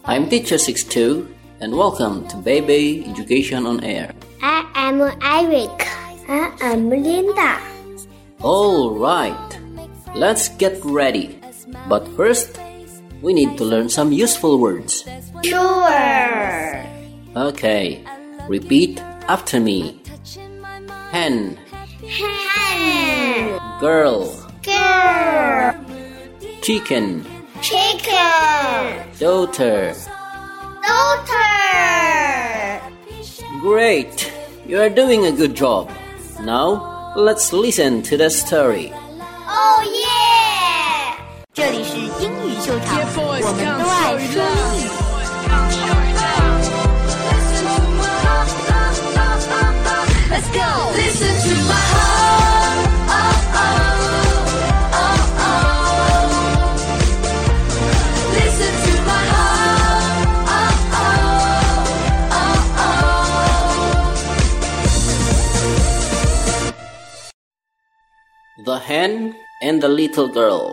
I'm Teacher 62 and welcome to Baby Education on Air. I am Eric. I am Linda. Alright, let's get ready. But first, we need to learn some useful words. Sure. Okay, repeat after me. Hen, Hen. girl, Girl. chicken, Chicken. daughter. Daughter. Great, you are doing a good job. Now, let's listen to the story. Oh yeah. 这里是英语秀场，我们都爱说英语。Let's go. Listen to my heart. Oh oh oh oh. Listen to my heart. Oh oh oh oh. The Hen and the Little Girl.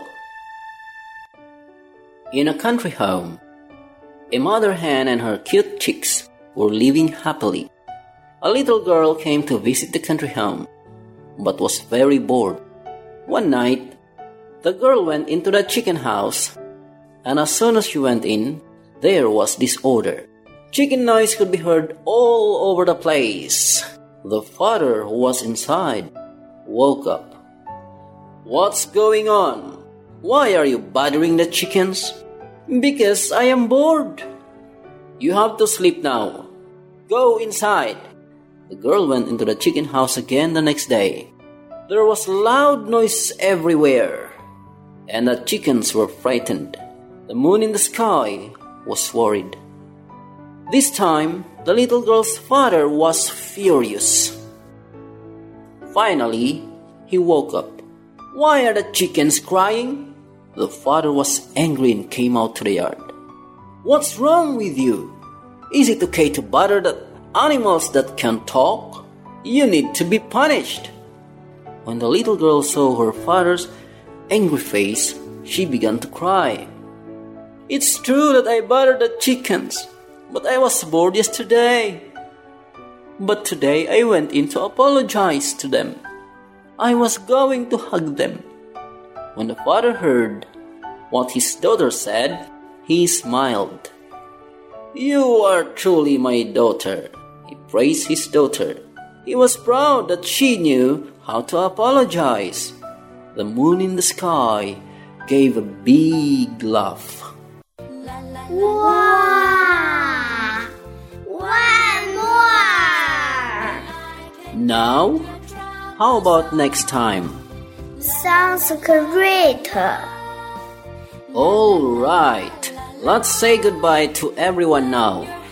In a country home, a mother hen and her cute chicks were living happily. A little girl came to visit the country home, but was very bored. One night, the girl went into the chicken house, and as soon as she went in, there was disorder. Chicken noise could be heard all over the place. The father, who was inside, woke up. "What's going on? Why are you bothering the chickens?" "Because I am bored." "You have to sleep now. Go inside." The girl went into the chicken house again the next day. There was loud noise everywhere, and the chickens were frightened. The moon in the sky was worried. This time, the little girl's father was furious. Finally, he woke up. "Why are the chickens crying?" The father was angry and came out to the yard. "What's wrong with you? Is it okay to bother the animals that can talk? You need to be punished." When the little girl saw her father's angry face, she began to cry. "It's true that I bothered the chickens, but I was bored yesterday. But today I went in to apologize to them. I was going to hug them." When the father heard what his daughter said, he smiled. "You are truly my daughter." He praised his daughter. He was proud that she knew how to apologize. The moon in the sky gave a big laugh. Wow. One more. Now, how about next time? Sounds great. All right, let's say goodbye to everyone now.